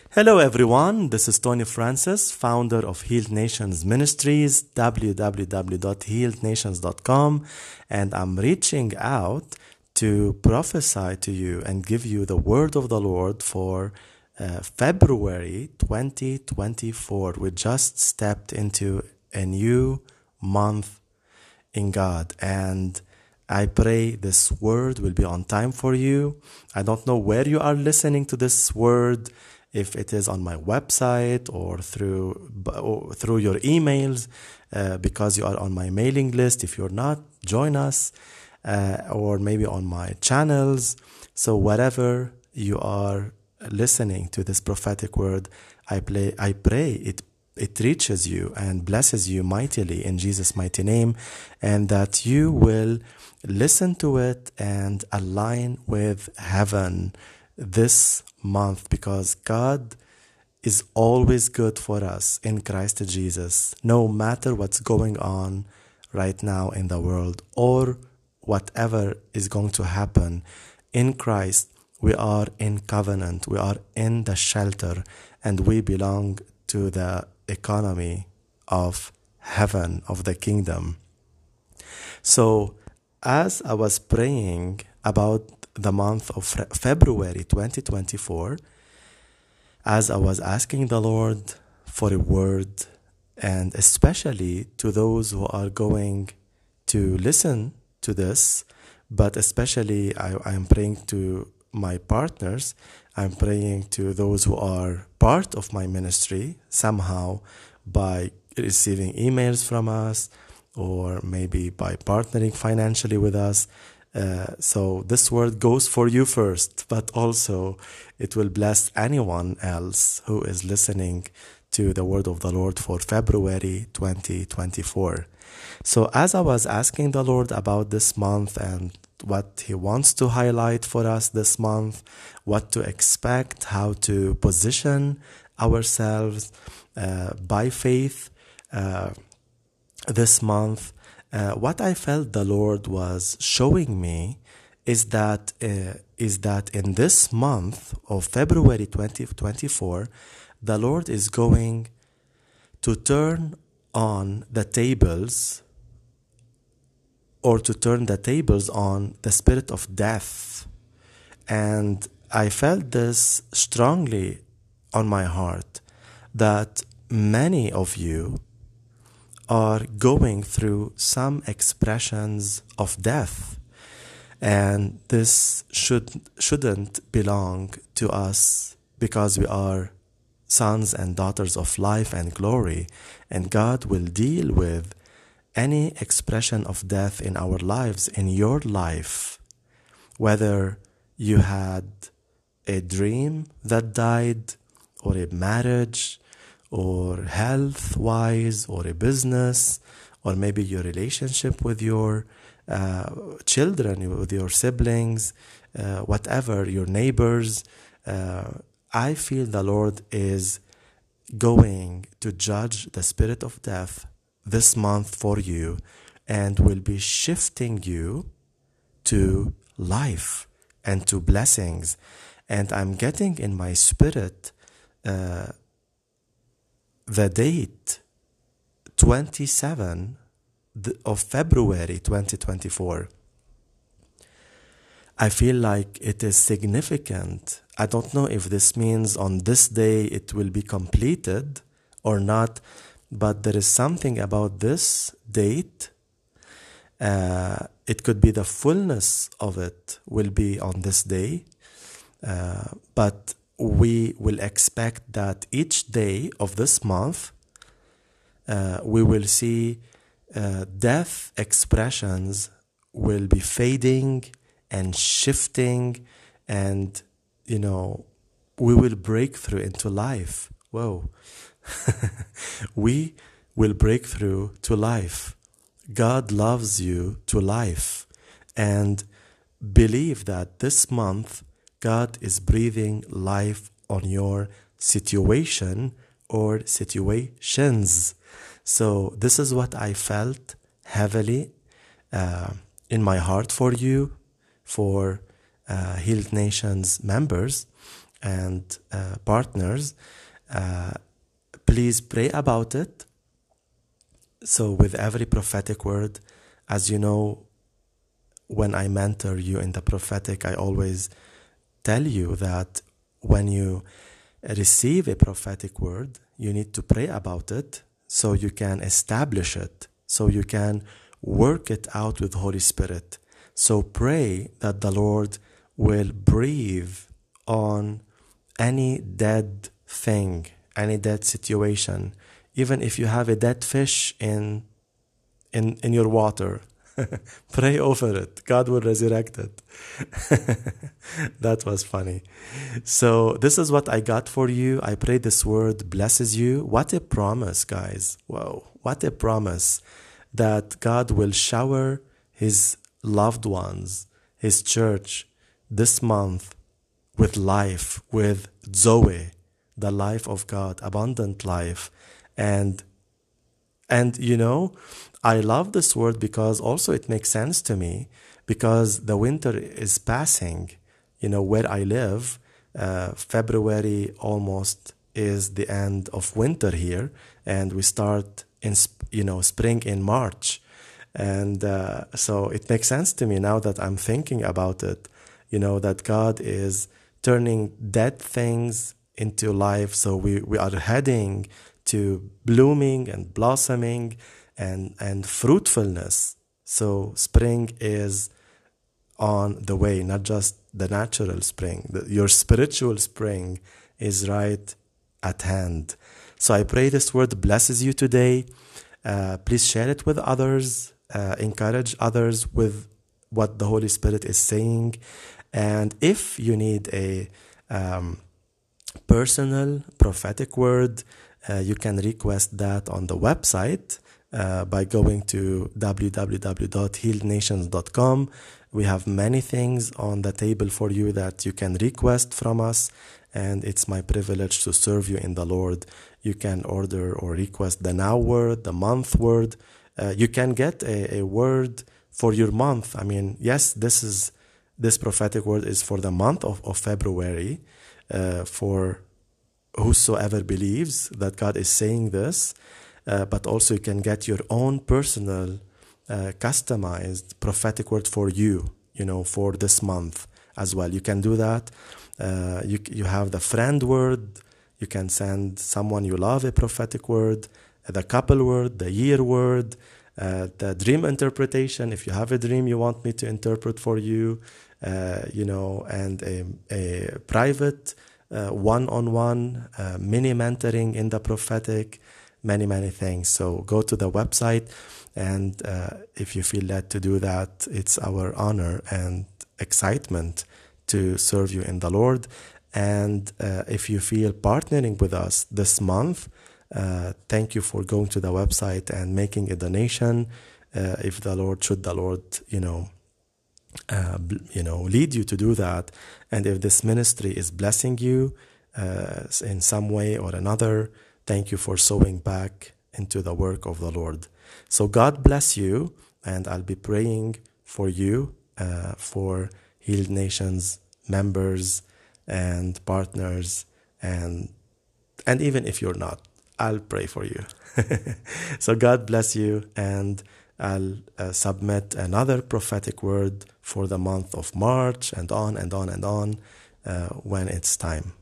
Hello, everyone. This is Tony Francis, founder of Healed Nations Ministries, www.healednations.com, and I'm reaching out to prophesy to you and give you the word of the Lord for February 2024. We just stepped into a new month in God, and I pray this word will be on time for you. I don't know where you are listening to this word, if it is on my website or through your emails, because you are on my mailing list. If you're not, join us, or maybe on my channels. So wherever you are listening to this prophetic word, I pray it reaches you and blesses you mightily in Jesus' mighty name, and that you will listen to it and align with heaven this month, because God is always good for us in Christ Jesus, no matter what's going on right now in the world or whatever is going to happen. In Christ, we are in covenant, we are in the shelter, and we belong to the economy of heaven, of the kingdom. So as I was praying about the month of February 2024, as I was asking the Lord for a word, and especially to those who are going to listen to this, but especially I am praying to my partners, I'm praying to those who are part of my ministry somehow by receiving emails from us, or maybe by partnering financially with us. So this word goes for you first, but also it will bless anyone else who is listening to the word of the Lord for February 2024. So as I was asking the Lord about this month and what He wants to highlight for us this month, what to expect, how to position ourselves by faith this month, what I felt the Lord was showing me is that in this month of February 2024, the Lord is going to turn on the tables, or to turn the tables on the spirit of death. And I felt this strongly on my heart, that many of you are going through some expressions of death, and this shouldn't belong to us, because we are sons and daughters of life and glory, and God will deal with any expression of death in our lives, in your life, whether you had a dream that died, or a marriage, or health-wise, or a business, or maybe your relationship with your children, with your siblings, whatever, your neighbors. I feel the Lord is going to judge the spirit of death this month for you, and will be shifting you to life and to blessings. And I'm getting in my spirit the date 27 of February 2024. I feel like it is significant. I don't know if this means on this day it will be completed or not, but there is something about this date. It could be the fullness of it will be on this day, but we will expect that each day of this month we will see death expressions will be fading and shifting, and we will break through into life. Whoa. We will break through to life. God loves you to life, and believe that this month God is breathing life on your situation or situations. So this is what I felt heavily in my heart for you, for Healed Nations members. and partners, please pray about it. So with every prophetic word, as you know, when I mentor you in the prophetic, I always tell you that when you receive a prophetic word, you need to pray about it so you can establish it, so you can work it out with Holy Spirit. So pray that the Lord will breathe on any dead thing, any dead situation. Even if you have a dead fish in your water, pray over it. God will resurrect it. That was funny. So this is what I got for you. I pray this word blesses you. What a promise, guys. Wow. What a promise that God will shower his loved ones, his church, this month with life, with Zoe, the life of God, abundant life. And you know, I love this word because also it makes sense to me, because the winter is passing. You know, where I live, February almost is the end of winter here, and we start in spring in March. And so it makes sense to me now that I'm thinking about it, you know, that God is turning dead things into life. So we are heading to blooming and blossoming and fruitfulness. So spring is on the way, not just the natural spring. Your spiritual spring is right at hand. So I pray this word blesses you today. Please share it with others. Encourage others with what the Holy Spirit is saying. And if you need a personal prophetic word, you can request that on the website by going to www.healednations.com. We have many things on the table for you that you can request from us, and it's my privilege to serve you in the Lord. You can order or request the now word, the month word. You can get a word for your month. I mean, yes, this prophetic word is for the month of February, for whosoever believes that God is saying this, but also you can get your own personal, customized prophetic word for you, for this month as well. You can do that. You have the friend word. You can send someone you love a prophetic word, the couple word, the year word, the dream interpretation. If you have a dream you want me to interpret for you, and a private one-on-one mini mentoring in the prophetic, many things. So go to the website, and if you feel led to do that, it's our honor and excitement to serve you in the Lord. And if you feel partnering with us this month, thank you for going to the website and making a donation. If the Lord lead you to do that, and if this ministry is blessing you in some way or another, thank you for sowing back into the work of the Lord. So God bless you, and I'll be praying for you, for Healed Nations members and partners, and even if you're not, I'll pray for you. So God bless you, and I'll submit another prophetic word for the month of March, and on and on and on when it's time.